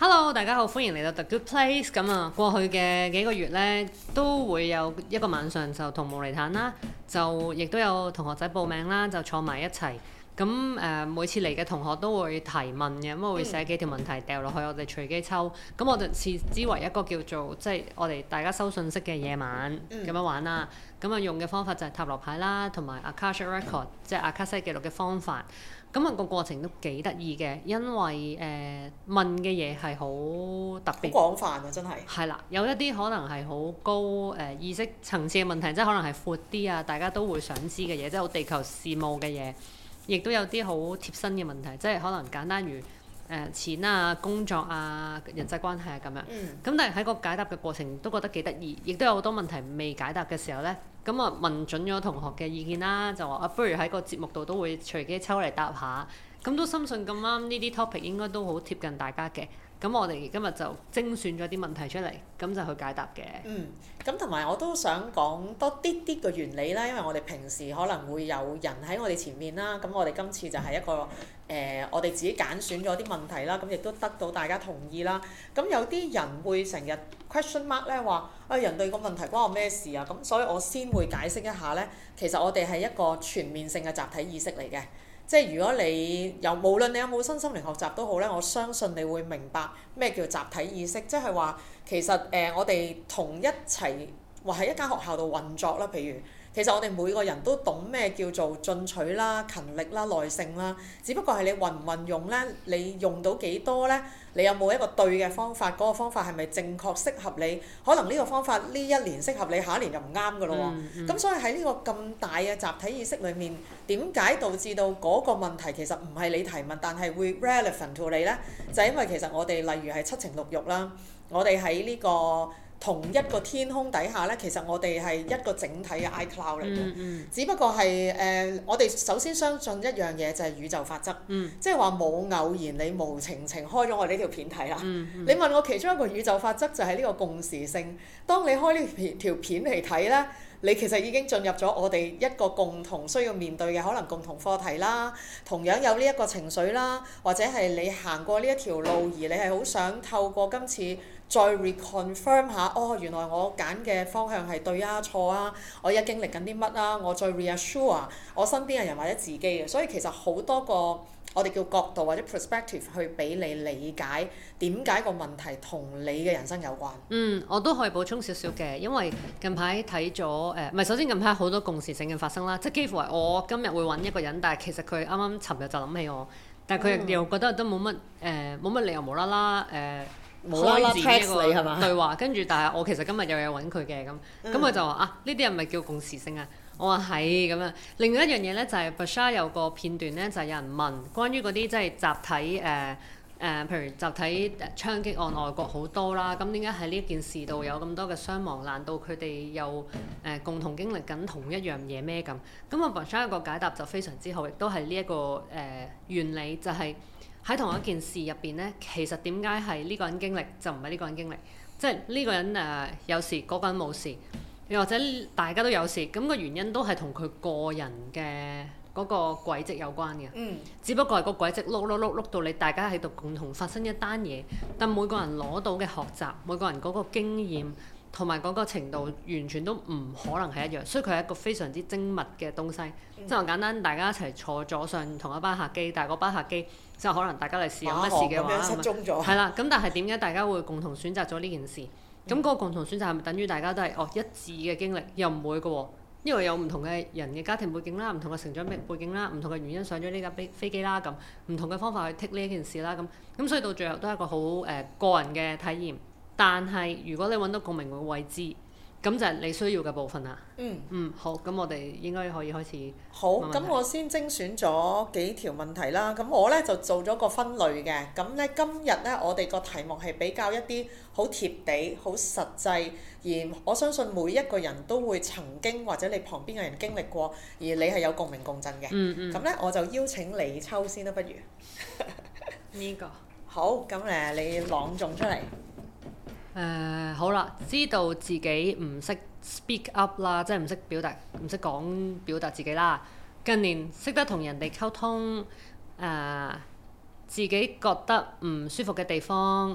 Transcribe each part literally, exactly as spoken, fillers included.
Hello，大家好，歡迎嚟到 The Good Place。咁啊，過去嘅幾個月呢，都會有一個晚上就同無厘坦啦，就亦都有同學仔報名啦，就坐埋一齊。咁誒、呃，每次嚟嘅同學都會提問嘅，咁我會寫幾條問題掉落去，我哋隨機抽。咁我就視之為一個叫做即係我哋大家收信息嘅夜晚咁、嗯、樣玩啦。咁啊，用嘅方法就係塔羅牌啦，同埋 Akashic Record，即係阿卡西記錄嘅方法。咁啊，個過程都幾得意嘅，因為誒、呃、問嘅嘢係好特別， 好廣泛啊！真係係啦，有一啲可能係好高誒、呃、意識層次嘅問題，即係可能係闊啲啊，大家都會想知嘅嘢，即係好地球事務嘅嘢，亦都有啲好貼身嘅問題，即係可能簡單如誒、呃、錢啊、工作啊、人際關係啊咁樣。咁、嗯、但係喺個解答嘅過程都覺得幾得意，亦都有好多問題未解答嘅時候咧。咁啊問準咗同學嘅意見啦，就話啊不如喺個節目度都會隨機抽嚟答下，咁都深信咁啱呢啲 topic 應該都好貼近大家嘅，咁我哋今日就精選咗啲問題出嚟，咁就去解答嘅。 嗯，咁同埋我都想講多啲啲個原理啦，因為我哋平時可能會有人喺我哋前面啦，咁我哋今次就係一個誒、呃，我哋自己揀選咗啲問題啦，咁亦都得到大家同意啦。咁有啲人會成日 question mark 咧話，啊人哋個問題關我咩事啊？咁所以我先會解釋一下咧，其實我哋係一個全面性嘅集體意識嚟嘅。即係如果你有無論你有冇身心靈學習都好咧，我相信你會明白咩叫集體意識，即係話其實誒、呃、我哋同一齊或喺一間學校度運作啦，譬如其實我哋每個人都懂咩叫做進取啦、勤力啦、耐性啦，只不過係你運唔運用咧，你用到幾多咧？你有冇一個對嘅方法？嗰、那個方法係咪正確適合你？可能呢個方法呢一年適合你，下一年就唔啱㗎咯喎。咁、嗯嗯、所以喺呢個咁大嘅集體意識裏面，點解導致到嗰個問題其實唔係你提問，但係會 relevant to 你咧？就係、是、因為其實我哋例如係七情六慾啦，我哋喺呢個同一個天空底下咧，其實我哋係一個整體嘅 iCloud 嚟嘅。嗯嗯、只不過係誒、呃，我哋首先相信一樣嘢就係宇宙法則，嗯、即係話冇偶然，你無情情開咗我哋呢條片睇啦。嗯嗯、你問我其中一個宇宙法則就係呢個共時性。當你開呢條條片嚟睇咧，你其實已經進入咗我哋一個共同需要面對嘅可能共同課題啦，同樣有呢一個情緒啦，或者係你行過呢一條路而你係好想透過今次再 reconfirm 下，哦原來我揀嘅方向係對啊錯啊，我而家經歷緊啲乜啊，我再 reassure 我身邊嘅人或者自己嘅，所以其實好多個我哋叫角度或者 perspective 去俾你理解點解個問題同你嘅人生有關。 嗯，我都可以補充少少嘅，因為近排睇咗誒，唔、呃、係首先近排好多共時性嘅發生啦，即係幾乎係我今日會揾一個人，但係其實佢啱啱尋日就諗起我，但係佢又覺得都冇乜誒冇乜理由無啦啦誒。 冇啦啦 text 你係嘛？ 對話，跟住但係我其實今日又有揾佢嘅咁，咁佢、嗯、就話啊呢啲係咪叫共時性啊？我話係咁樣。另外一樣嘢咧就係 Bashar 有個片段咧就係、是、有人問關於嗰啲即係集體誒誒、呃呃，譬如集體槍擊案外國好多啦，咁點解喺呢件事度有咁多嘅傷亡？難道佢哋又誒、呃、共同經歷緊同一樣嘢咩咁？咁啊 Bashar 個解答就非常之好，亦都係呢一個誒、呃、原理就係、是。喺同一件事入邊咧，其實點解係呢個人經歷就唔係呢個人經歷？即係呢個人誒、呃、有事，嗰、嗰個人冇事，又或者大家都有事，咁、個原因都係同佢個人嘅嗰個軌跡有關嘅。嗯。只不過係個軌跡碌碌碌碌到你大家喺度共同發生一單嘢，但每個人攞到嘅學習，每個人嗰個經驗同埋嗰個程度，完全都唔可能係一樣，所以佢係一個非常之精密嘅東西。即係話簡單，大家一齊坐咗上同一班客機，但係嗰班客機即係可能大家嚟試有乜事嘅話，係啦。咁但係點解大家會共同選擇咗呢件事？咁嗰、嗯、個共同選擇係咪等於大家都係哦一致嘅經歷？又唔會嘅喎，因為有唔同嘅人嘅家庭背景啦，唔同嘅成長背背景啦，唔同嘅原因上咗呢架飛飛機啦，咁唔同嘅方法去 take 呢一件事啦，咁咁所以到最後都係一個好誒、呃、個人嘅體驗。但係如果你揾到共鳴嘅位置，咁就係你需要嘅部分啦。嗯。嗯，好，咁我哋應該可以開始。 好，咁我先精選咗幾條問題啦。咁我咧就做咗個分類嘅。咁咧今日咧我哋個題目係比較一啲好貼地、好實際，而我相信每一個人都會曾經或者你旁邊嘅人經歷過，而你係有共鳴共振嘅。嗯嗯。咁咧我就邀請你抽先啦，不如。 呢、這個。 好，咁誒你朗誦出嚟。 誒、uh, 好啦，知道自己唔識 speak up 啦，即係唔識表達，唔識講表達自己啦。近年識得同人哋溝通，誒、uh, 自己覺得唔舒服嘅地方，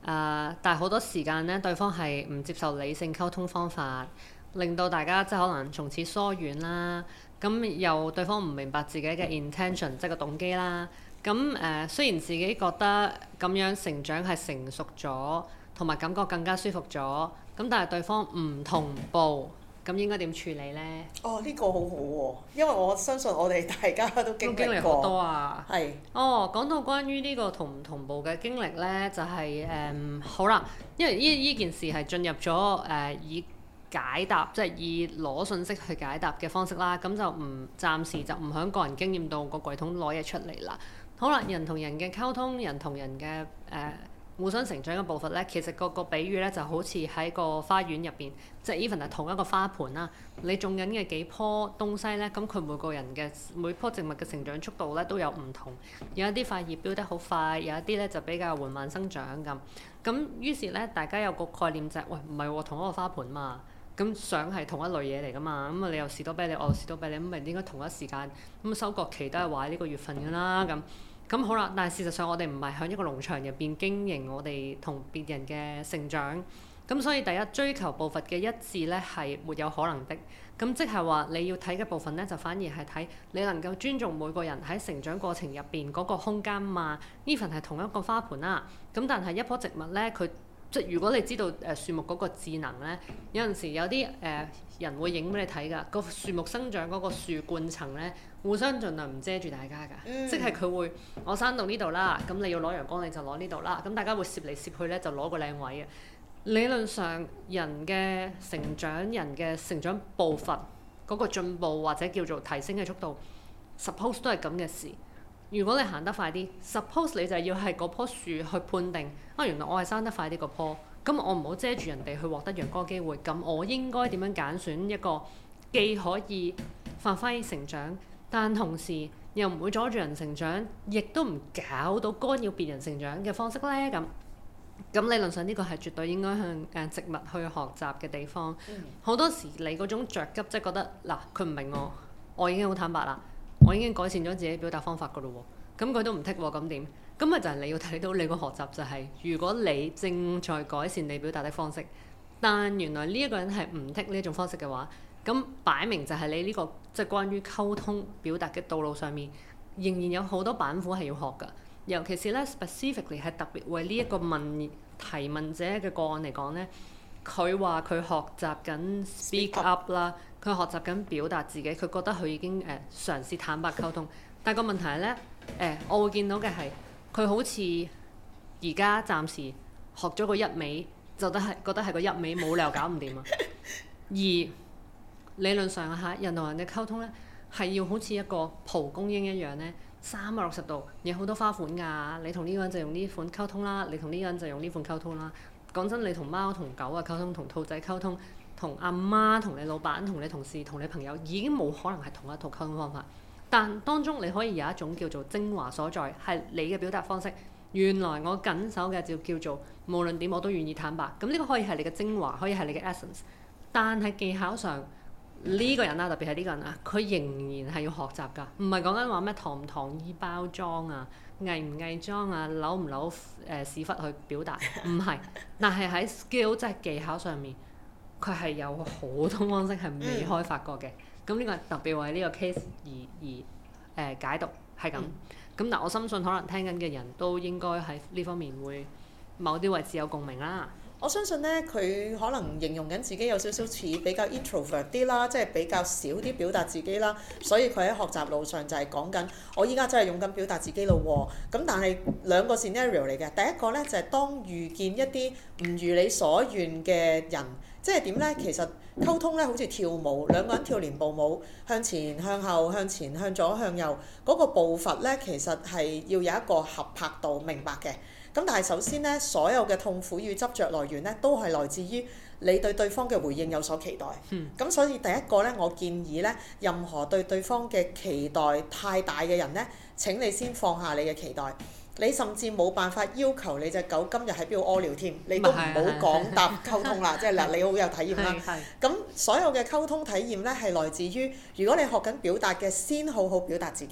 呃，但係好多時間咧，對方係唔接受理性溝通方法，令到大家即係可能從此疏遠啦。咁又對方唔明白自己嘅 intention，即係個動機啦。咁誒、呃，雖然自己覺得咁樣成長係成熟咗，同埋感覺更加舒服咗，咁但係對方唔同步，咁應該點處理呢？ 哦，呢、這個好好、啊、喎，因為我相信我哋大家都經歷過。好多啊！係是。哦，講到關於呢個同唔同步嘅經歷呢，就係、是、誒、嗯、好啦，因為呢呢件事係進入咗誒、呃、以解答，即係以攞信息去解答嘅方式啦。咁就唔暫時就唔響個人經驗到個櫃桶攞嘢出嚟啦。好啦，人同人嘅溝通，人同人嘅誒、呃、互相成長嘅步伐咧，其實個個比喻咧就好似喺個花園入邊，即係 even 係同一個花盆啦。你種緊嘅幾棵東西咧，咁佢每個人嘅每棵植物嘅成長速度咧都有唔同。有一啲塊葉飆得好快，有一啲咧就比較緩慢生長咁。咁於是咧，大家有個概念就係、是，喂唔係喎，同一個花盆嘛。咁想係同一類嘢嚟㗎嘛，咁啊你又士多啤梨，我又士多啤梨，咁咪應該同一時間，咁收割期都係話呢個月份㗎啦，咁咁好啦。但係事實上我哋唔係喺一個農場入邊經營我哋同別人嘅成長，咁所以第一追求步伐嘅一致咧係沒有可能的。咁即係話你要睇嘅部分咧，就反而係睇你能夠尊重每個人喺成長過程入邊嗰個空間嘛。呢份係同一個花盆啦，咁但係一棵植物咧佢。即係如果你知道誒、呃、樹木嗰個智能咧，有陣時有啲誒、呃、人會影俾你睇㗎，個樹木生長嗰個樹冠層咧，互相盡量唔遮住大家㗎，嗯、即係佢會我生到呢度啦，咁你要攞陽光你就攞呢度啦，咁大家會攝嚟攝去咧就攞個靚位嘅。理論上人嘅成長、人嘅成長步伐嗰、嗰個進步或者叫做提升嘅速度 ，suppose 都係咁嘅事。如果你行得快啲 ，suppose 你就要係嗰棵樹去判定啊，原來我係生得快啲個棵，咁我唔好遮住人哋去獲得陽光機會，咁我應該點樣揀選一個既可以發揮成長，但同時又唔會阻住人成長，亦都唔搞到干擾別人成長嘅方式呢？咁咁理論上呢個係絕對應該向誒植物去學習嘅地方。好、嗯、多時你嗰種着急，即係覺得嗱佢唔明我，我已經好坦白啦。我已經改善咗自己表達方法㗎咯喎，咁佢都唔剔喎，咁點？咁咪就係你要睇到你個學習就係、是，如果你正在改善你表達的方式，但原來呢一個人係唔剔呢一種方式嘅話，咁擺明就係你呢、這個即係、就是、關於溝通表達嘅道路上面，仍然有好多板斧係要學㗎。尤其是咧 specifically 係特別為呢一個問提問者嘅個案嚟講咧，佢話佢學習緊 speak up 啦。佢學習緊表達自己，佢覺得佢已經誒、呃、嘗試坦白溝通，但係個問題係咧誒，我會見到嘅係佢好似而家暫時學咗個一味，就得係覺得係個一味冇理由搞唔掂啊！而理論上嚇人同人嘅溝通咧，係要好似一個蒲公英一樣咧，三百六十度有好多花款㗎。你同呢個人就用呢款溝通啦，你同呢個人就用呢款溝通啦。講真，你同貓同狗嘅溝通，同兔仔溝通。同阿媽、同你老闆、同你同事、同你朋友已經冇可能係同一套溝通方法，但當中你可以有一種叫做精華所在，係你嘅表達方式。原來我緊守嘅就叫做無論點我都願意坦白，咁呢個可以係你嘅精華，可以係你嘅 essence。但係技巧上呢、呢個人啊，特別係呢個人啊，佢仍然係要學習㗎，唔係講緊話咩糖唔糖衣包裝啊、偽唔偽裝啊、扭唔扭誒屎忽去表達，唔係。但係喺 skill 即係技巧上面。佢係有好多方式係未開發過嘅，咁呢、嗯、個特別為呢個 case 而而誒、呃、解讀係咁。咁、嗯、但我深信可能聽緊嘅人都應該喺呢方面會某啲位置有共鳴啦。 我相信咧，佢可能形容緊自己有少少似比較 introvert 啲啦，即係比較少啲表達自己啦，所以佢喺學習路上就係講緊，我依家真係勇敢表達自己咯喎。咁但係兩個 scenario 嚟嘅，第一個咧就係、是、當遇見一啲唔如你所願嘅人。即係點咧？其實溝通咧好似跳舞，兩個人跳連步舞，向前向後向前向左向右，嗰、那個步伐咧其實係要有一個合拍度，明白嘅。咁但係首先咧，所有嘅痛苦與執着來源咧，都係來自於你對對方嘅回應有所期待。咁、嗯、所以第一個咧，我建議咧，任何對對方嘅期待太大嘅人咧，請你先放下你嘅期待。你甚至冇辦法要求你隻狗今日喺邊度屙尿添，你都唔好講答溝通啦。即係嗱，你好有體驗啦。咁所有嘅溝通體驗咧，係來自於如果你學緊表達嘅，先好好表達自己。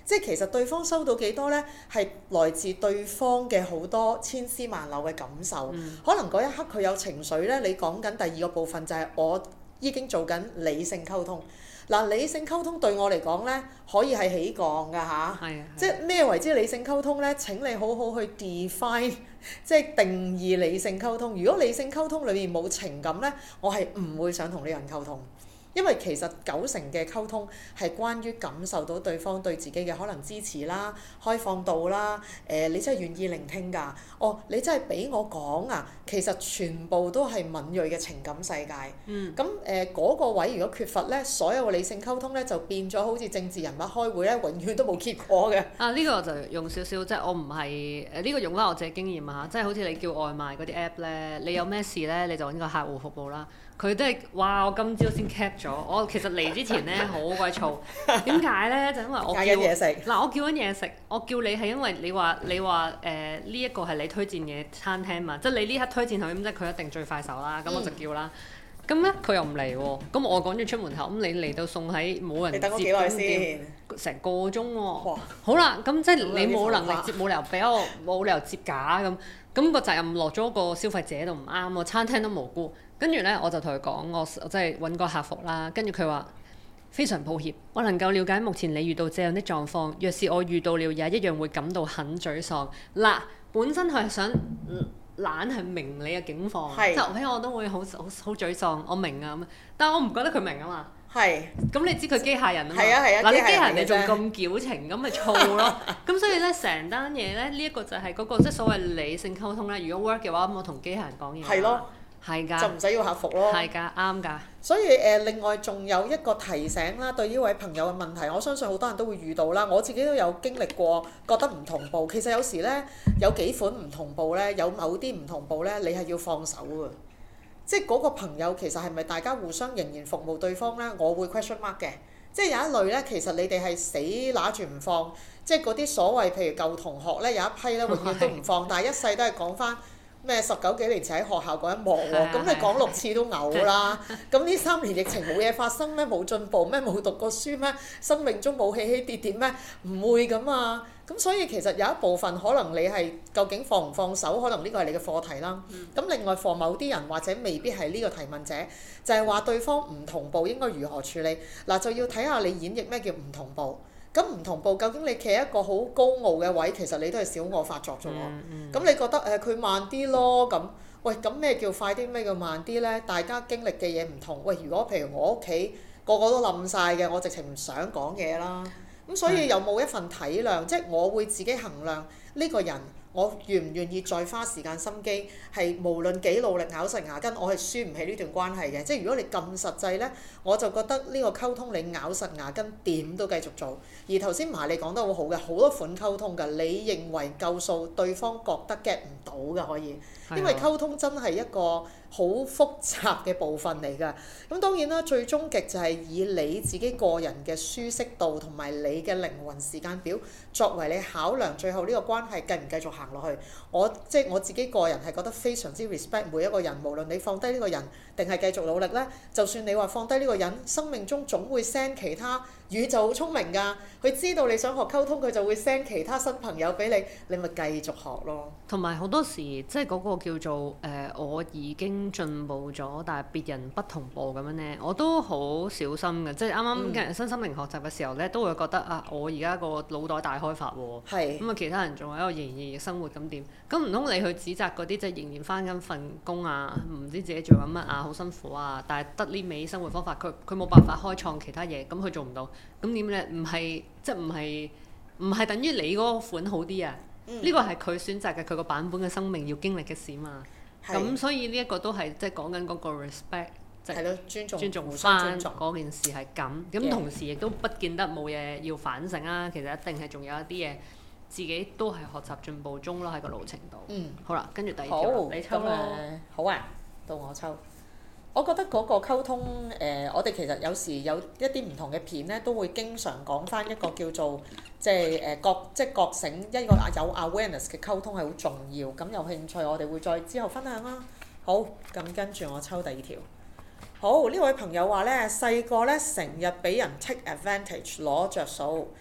即係其實對方收到幾多呢？係來自對方嘅好多千絲萬縷嘅感受。嗯、可能嗰一刻佢有情緒呢，你講緊第二個部分就係我已經做緊理性溝通。嗱，理性溝通對我嚟講呢，可以係起降㗎嚇。即係咩為之理性溝通呢？請你好好去 define，即係定義理性溝通。如果理性溝通裏面冇情感呢，我係唔會想同呢個人溝通。因為其實九成嘅溝通係關於感受到對方對自己嘅可能支持啦、開放度啦，誒、呃、你真係願意聆聽㗎，哦你真係俾我講啊，其實全部都係敏銳嘅情感世界。嗯。咁誒嗰個位如果缺乏咧，所有嘅理性溝通咧就變咗好似政治人物開會咧，永遠都冇結果嘅。啊呢、呢個就用少少，即係我唔係誒呢個用翻我自己經驗啊，即係好似你叫外賣嗰啲 app 咧，你有咩事咧你就揾個客戶服務啦。佢都係哇！我今朝先 cap 咗，我其實嚟之前咧好鬼燥。點解咧？就因為我叫嗌緊嘢食。 嗱，我叫緊嘢食，我叫你係因為你話你話誒呢一個係你推薦嘅餐廳嘛，即係你呢刻推薦佢咁，即係佢一定最快手啦。咁我就叫啦。咁咧佢又唔嚟喎，咁我趕住出門口，咁你嚟到送喺冇人接， 你等我幾耐先？ 成個鐘喎。哇！好啦，咁即係你冇能力接，冇理由俾我，冇理由接假咁。咁個責任落咗個消費者度唔啱喎，餐廳都無辜。跟住咧，我就同佢講，我即係揾個客服啦。跟住佢話非常抱歉，我能夠了解目前你遇到這樣的狀況。若是我遇到了，也一樣會感到很沮喪。嗱，本身佢係想懶係明你嘅境況，即係喺我都會好好好沮喪。我明啊咁，但係我唔覺得佢明啊嘛。係是。咁你知佢機械人啊嘛？係啊係啊。嗱，你機械人你仲咁矯情，咁咪燥咯。咁所以咧，成單嘢咧，呢、這、一個就係嗰、那個即係所謂理性溝通咧。如果 work 嘅話，咁我同機械人講嘢。係咯。係㗎，就唔使要客服咯。係㗎，啱㗎。所以誒、呃，另外仲有一個提醒啦，對呢位朋友嘅問題，我相信好多人都會遇到啦。我自己都有經歷過，覺得唔同步。其實有時咧，有幾款唔同步咧，有某啲唔同步咧，你係要放手㗎。即係嗰個朋友其實係咪大家互相仍然服務對方咧？我會 question mark 嘅。即係有一類咧，其實你哋係死揦住唔放。即係嗰啲所謂譬如舊同學咧，有一批咧永遠都唔放，但係一世都係講翻。咩十九幾年前喺學校嗰一幕喎，咁你講六次都嘔啦。咁呢三年疫情冇嘢發生咩？冇進步咩？冇讀過書咩？生命中冇起起跌跌咩？唔會㗎嘛。咁所以其實有一部分可能你係究竟放唔放手，可能呢個係你嘅課題啦。咁、嗯、另外放某啲人或者未必係呢個提問者，就係、是、話對方唔同步應該如何處理。嗱就要睇下你演繹咩叫唔同步。咁唔同步，究竟你企喺一個好高傲嘅位，其實你都係小我發作啫喎。咁、嗯嗯、你覺得誒佢、呃、慢啲咯？咁喂，咁咩叫快啲？咩叫慢啲咧？大家經歷嘅嘢唔同。喂，如果譬如我屋企個個都冧晒嘅，我直情唔想講嘢啦。咁所以有冇一份體諒？嗯、即係我會自己衡量呢個人。我願唔願意再花時間心機？係無論幾努力咬實牙根，我係輸唔起呢段關係嘅。即係如果你咁實際呢，我就覺得呢個溝通你咬實牙根點都繼續做。而頭先麻利講得好好嘅，好多款溝通㗎。你認為夠數，對方覺得 get 唔到㗎可以，因為溝通真係一個好複雜嘅部分嚟㗎。咁當然啦，最終極就係以你自己個人嘅舒適度同埋你嘅靈魂時間表作為你考量，最後呢個關係繼唔繼續行落去。我即係我自己個人係覺得非常之 respect 每一個人，無論你放低呢個人定係繼續努力呢。就算你話放低呢個人，生命中總會 send 其他。宇宙好聰明㗎，佢知道你想學溝通，佢就會 send 其他新朋友俾你，你咪繼續學咯。同埋好多時即係嗰個叫做誒、呃，我已經進步咗，但係別人不同步咁樣咧，我都好小心嘅。即係啱啱嘅身心靈學習嘅時候咧，都會覺得啊，我而家個腦袋大開發喎。係。咁啊，其他人仲喺度仍然生活咁點？咁唔通你去指責嗰啲即係仍然返緊份工啊，唔知自己做緊乜啊，好辛苦啊，但係得呢味生活方法，佢佢冇辦法開創其他嘢，咁佢做唔到。咁點咧？唔係即係唔係唔係等於你嗰個款好啲啊？呢個係佢選擇嘅佢個版本嘅生命要經歷嘅事嘛。咁的所以呢一個都係即係講緊嗰個 respect，即係尊重尊重翻嗰件事係咁。咁 Yeah. 同時亦都不見得冇嘢要反省啊。其實一定係仲有一啲嘢自己都係學習進步中咯，喺個路程度。嗯。好啦，跟住第二條，好你抽咯。好啊，到我抽。我覺得嗰個溝通，誒、呃，我哋其實有時有一啲唔同嘅片咧，都會經常講翻一個叫做即係誒覺即係覺醒一個有 awareness 嘅溝通係好重要。咁有興趣，我哋會再之後分享啦。好，咁跟住我抽第二條。好，呢位朋友話咧，細個咧成日俾人 take advantage 攞着數，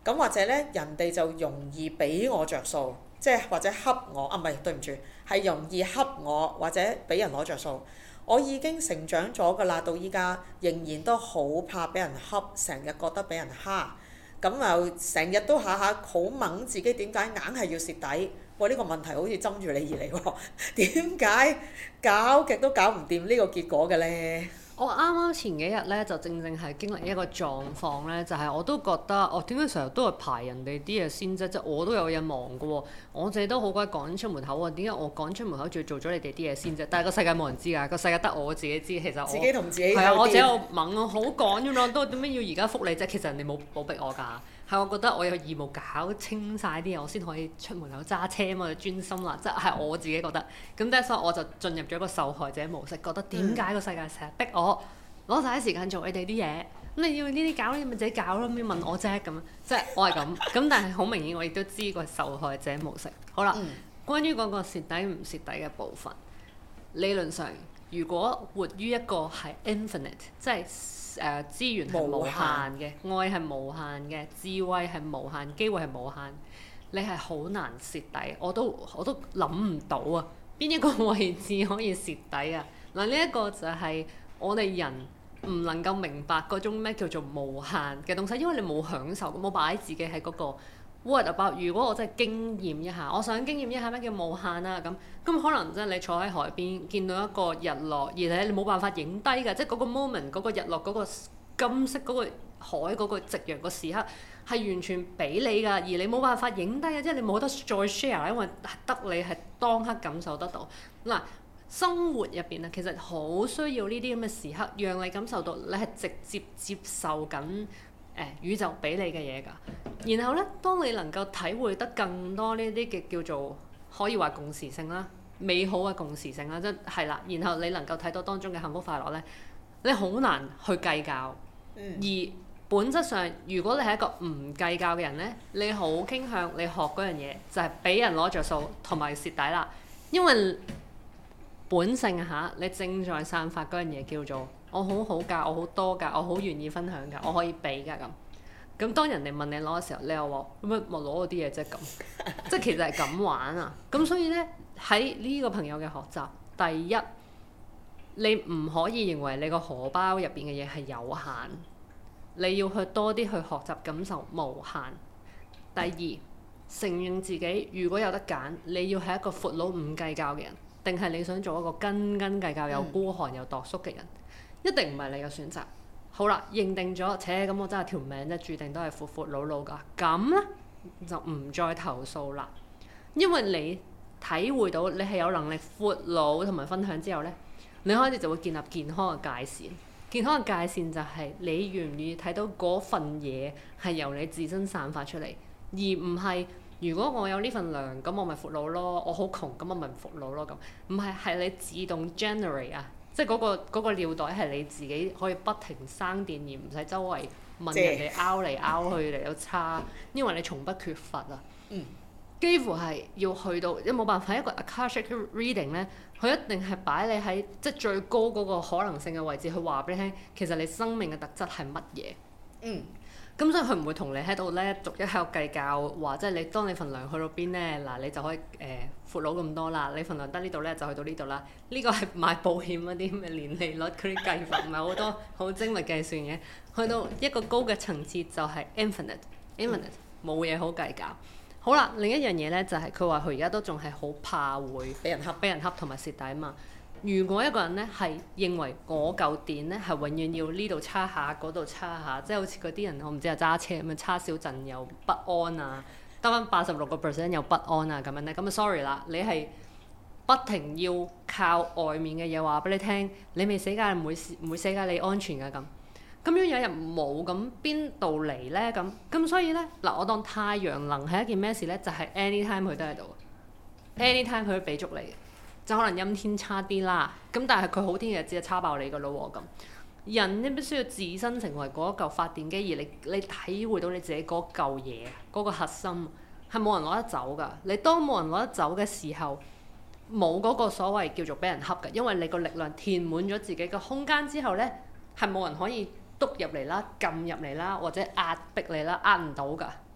咁或者咧人哋就容易俾我着數，即係或者恰我啊，唔係對唔住，係容易恰我或者俾人攞着數。我已經成長咗㗎啦，到依家仍然都好怕俾人恰，成日覺得俾人蝦，咁又成日都下下好掹自己，點解硬係要蝕底？喂，呢個問題好似針住你而嚟喎，點解搞極都搞唔掂呢個結果嘅呢？ 我啱啱前幾日咧就正正係經歷一個狀況咧，就係、是、我都覺得，我點解成日都係排人哋啲嘢先啫？即係我都有嘢忙㗎喎，我自己都好鬼趕出門口喎，點解我趕出門口仲要做咗你哋啲嘢先啫？但係個世界冇人知㗎，個世界得我自己知。其實我自己同自己係啊，我自己我猛啊，好趕㗎咯，都點解要而家覆你啫？其實人哋冇冇逼我㗎。係我覺得我有義務搞清晒啲嘢，我先可以出門口揸車啊嘛，專心啦，即係我自己覺得。咁即係所以我就進入咗一個受害者模式，覺得點解個世界成日逼我攞晒啲時間做你哋啲嘢？咁你要呢啲搞，你咪自己搞咯，咁你問我啫咁。即係我係咁。咁但係好明顯，我亦都知個受害者模式。好啦，嗯、關於嗰個蝕底唔蝕底嘅部分，理論上如果活於一個係 infinite， 即係誒、呃、資源係無限嘅，愛係無限嘅，智慧係無限，機會係無限，你係好難蝕底。我都我都諗唔到啊，邊一個位置可以蝕底啊？嗱，呢一個就係我哋人唔能夠明白嗰種咩叫做無限嘅東西，因為你冇享受，冇擺自己喺嗰個 what about。如果我真係經驗一下，我想經驗一下咩叫無限啊咁，咁可能真係你坐喺海邊見到一個日落，而且你冇辦法影低㗎，即係嗰個 moment 嗰個日落嗰個金色嗰個海嗰個夕陽個時刻係完全俾你㗎，而你冇辦法影低嘅，即係你冇得再 share，因為得你係當刻感受得到。嗱，生活入邊啊，其實好需要呢啲咁嘅時刻，讓你感受到你係直接接受緊誒、呃、宇宙俾你嘅嘢㗎。然後咧，當你能夠體會得更多呢啲嘅叫做可以話共時性啦，美好嘅共時性啦，即係啦。然後你能夠睇到當中嘅幸福快樂咧，你好難去計較。嗯、而本質上，如果你係一個唔計較嘅人咧，你好傾向你學嗰樣嘢就係、是、俾人攞着數同埋蝕底啦，因為本性嚇，你正在散發嗰樣嘢叫做我好好㗎，我好多㗎，我好願意分享㗎，我可以俾㗎咁。咁當人哋問你攞嘅時候，你又話乜咪攞嗰啲嘢啫咁，即係其實係咁玩啊。咁所以咧，喺呢個朋友嘅學習，第一，你唔可以認為你個荷包入邊嘅嘢係有限，你要去多啲去學習感受無限。第二，承認自己如果有得揀，你要係一個闊佬唔計較嘅人，定係你想做一個斤斤計較又孤寒又度縮嘅人，一定唔係你嘅選擇。好啦，認定咗，且咁我真係條命咧，註定都係闊闊佬佬㗎。咁咧就唔再投訴啦，因為你體會到你係有能力闊佬同埋分享之後咧，你開始就會建立健康嘅界線。健康嘅界線就係你願唔願意睇到嗰份嘢係由你自身散發出嚟，而唔係如果我有呢份糧，咁我咪闊佬咯。我好窮，咁我咪唔闊佬咯咁。唔係，係你自動 generate 啊。即係嗰個嗰個尿袋係你自己可以不停生電，而唔使周圍問人哋拗嚟拗去嚟到叉，因為你從不缺乏啊。嗯。幾乎係要去到，因為冇辦法一個 Akashic reading 咧，佢一定係擺你喺即係最高嗰個可能性嘅位置，去話俾你聽，其實你生命嘅特質係乜嘢。嗯。咁所以佢唔會同你喺度咧逐一喺度計較，話即係你當你份糧去到邊咧，嗱你就可以誒闊佬咁多啦，你份糧得呢度咧就去到呢度啦。呢個係買保險嗰啲咩年利率嗰啲計法，唔係好多好精密計算嘅。去到一個高嘅層次就係 infinite，infinite 冇嘢好計較。好啦，另一樣嘢咧就係佢話佢而家都仲係好怕會俾人恰，俾人恰同埋蝕底啊嘛。如果一個人咧係認為嗰嚿電咧係永遠要呢度叉下嗰度叉下，即係好似嗰啲人我唔知啊揸車咁樣叉少陣又不安啊，得翻八十六個 percent 又不安啊咁樣咧，咁啊 sorry 啦，你係不停要靠外面嘅嘢話俾你聽，你未死㗎，唔會唔會死㗎，你安全㗎咁。咁樣有日冇咁邊度嚟咧咁？咁所以咧嗱，我當太陽能係一件咩事咧？就係、是、anytime 佢都喺度 ，anytime 佢都俾足你。就可能陰天差啲啦，咁但係佢好天嘅日子就叉爆你㗎咯喎咁。人咧必須要自身成為嗰一嚿發電機，而你你體會到你自己嗰嚿嘢，嗰、嗰個核心係冇人攞得走㗎。你當冇人攞得走嘅時候，冇嗰個所謂叫做俾人恰㗎，因為你個力量填滿咗自己嘅空間之後咧，係冇人可以篤入嚟啦、撳入嚟啦，或者壓迫你啦，壓唔到㗎。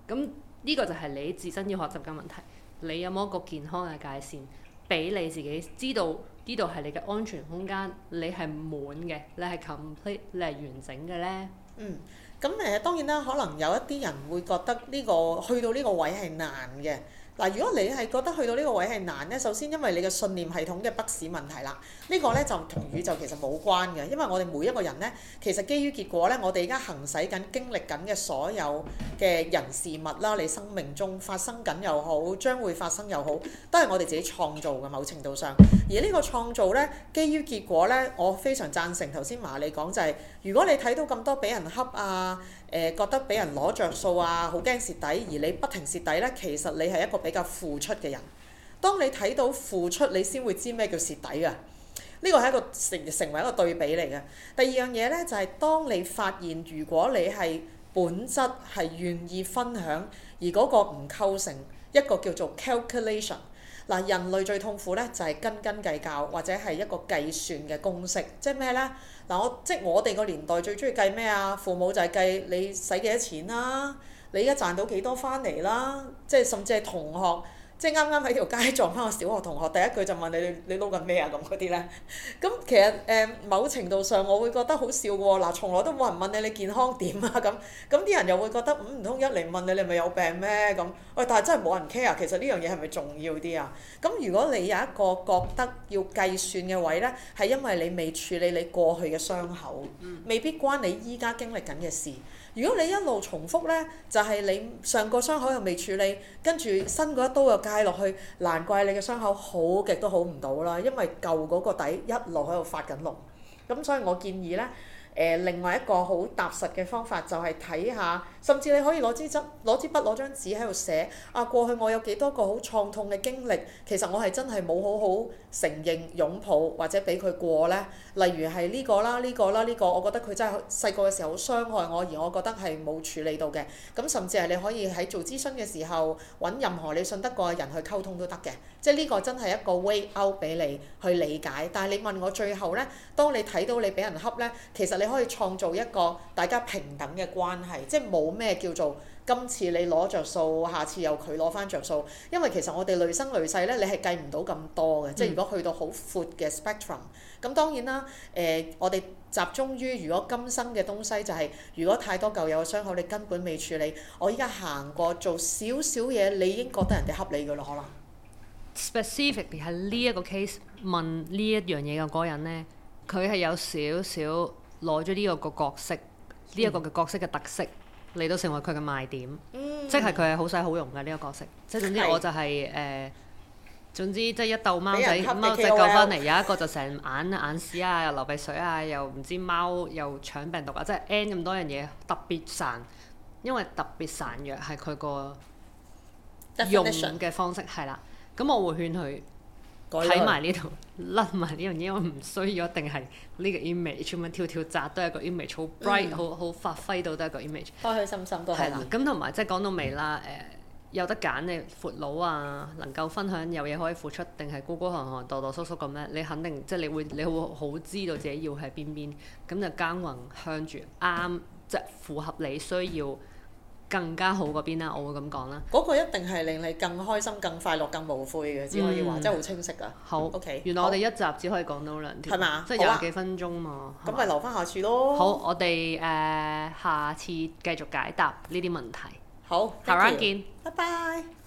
咁呢個就係你自身要學習嘅問題。你有冇一個健康嘅界線，俾你自己知道呢度係你嘅安全空間，你係滿嘅，你係 complete，你係完整嘅咧？ 嗯，咁誒當然啦，可能有一啲人會覺得呢個去到呢個位係難嘅。嗱，如果你係覺得去到呢個位係難咧，首先因為你嘅信念系統嘅不屎問題啦，呢個咧就同宇宙其實冇關嘅，因為我哋每一個人咧，其實基於結果咧，我哋而家行使緊、經歷緊嘅所有嘅人事物啦，你生命中發生緊又好，將會發生又好，都係我哋自己創造嘅某程度上。而呢個創造咧，基於結果咧，我非常贊成頭先麻利講就係，如果你睇到咁多俾人恰啊，誒、呃、覺得俾人攞着數啊，好驚蝕底，而你不停蝕底咧，其實你係一個比較付出嘅人。當你睇到付出，你先會知咩叫蝕底啊！呢個係一個成成為一個對比嚟嘅。第二樣嘢咧，就係、是、當你發現，如果你係本質係願意分享，而嗰個唔構成一個叫做 calculation。嗱，人類最痛苦咧就係斤斤計較，或者係一個計算嘅公式，即係咩咧？嗱，我即係我哋個年代最中意計咩啊？父母就係計你使幾多錢啦，你而家賺到幾多翻嚟啦，即係甚至係同學。即係啱啱喺條街撞翻個小學同學，第一句就問你：你你撈緊咩啊？咁嗰啲咧，咁其實誒、呃、某程度上我會覺得好笑喎。嗱，從來都冇人問你你健康點啊咁，咁啲人又會覺得唔唔通一嚟問你你係咪有病咩咁？喂，但係真係冇人 care，其實呢樣嘢係咪重要啲啊？咁如果你有一個覺得要計算嘅位咧，係因為你未處理你過去嘅傷口，未必關你依家經歷緊嘅事。如果你一路重複咧，就係、是、你上個傷口又未處理，跟住新嗰一刀又介落去，難怪你嘅傷口好極都好唔到啦，因為舊嗰個底一路喺度發緊膿。咁所以我建議咧，誒、呃、另外一個好踏實嘅方法就係睇下，甚至你可以攞支筆、攞支筆、攞張紙喺度寫啊，過去我有幾多個好創痛嘅經歷，其實我係真係冇好好承認、擁抱或者俾佢過咧。例如係呢個啦、呢個啦、呢個，我覺得佢真係細個嘅時候好傷害我，而我覺得係冇處理到嘅。咁甚至係你可以喺做諮詢嘅時候揾任何你信得過嘅人去溝通都得嘅。即係呢個真係一個 way out 俾你去理解。但係你問我最後咧，當你睇到你俾人恰咧，其實你可以創造一個大家平等嘅關係，即係冇咩叫做今次你攞着數，下次又佢攞翻着數。因為其實我哋累生累世咧，你係計唔到咁多嘅。嗯、即係如果去到好闊嘅 spectrum，咁當然啦，誒、呃、我哋集中於如果今生嘅東西就係、是，如果太多舊有嘅傷口你根本未處理，我依家行過做少少嘢，你已經覺得人哋恰你㗎啦，可能。 Specifically 係呢一個 case 問呢一樣嘢嘅嗰個人咧，佢係有少少攞咗呢個個角色，呢一、嗯、個嘅角色嘅特色嚟到成為佢嘅賣點，嗯、即係佢係好使好用嘅呢、這個角色。即係總之我就係、是、誒。呃總之即係一竇貓仔貓仔救翻嚟，有一個就成眼眼屎啊，又流鼻水啊，又唔知貓又搶病毒啊，即係 N 咁多樣嘢特別孱，因為特別孱弱係佢個用嘅方式係啦。咁我會勸佢睇埋呢度，甩埋呢樣嘢，我唔需要一定係呢個 image 咁樣跳跳紮都係一個 image，好 bright，好好、嗯、發揮到都係一個 image。開開心心都係。係啦，咁同埋即係講到尾啦，誒、呃。有得揀你闊佬啊，能夠分享有嘢可以付出，定係孤孤寒寒、墮墮縮縮咁咧？你肯定即係你會你會好知道自己要喺邊邊，咁就耕耘向住啱，即係符合你需要更加好嗰邊啦。我會咁講啦。嗰個一定係令你更開心、更快樂、更無悔嘅，只可以話，嗯、真係好清晰㗎。好，OK。原來我哋一集只可以講到兩條，係嘛？即係廿幾分鐘嘛。咁咪、啊、留翻下次咯。好，我哋誒、呃、下次繼續解答呢啲問題。好，下 round 見，拜拜。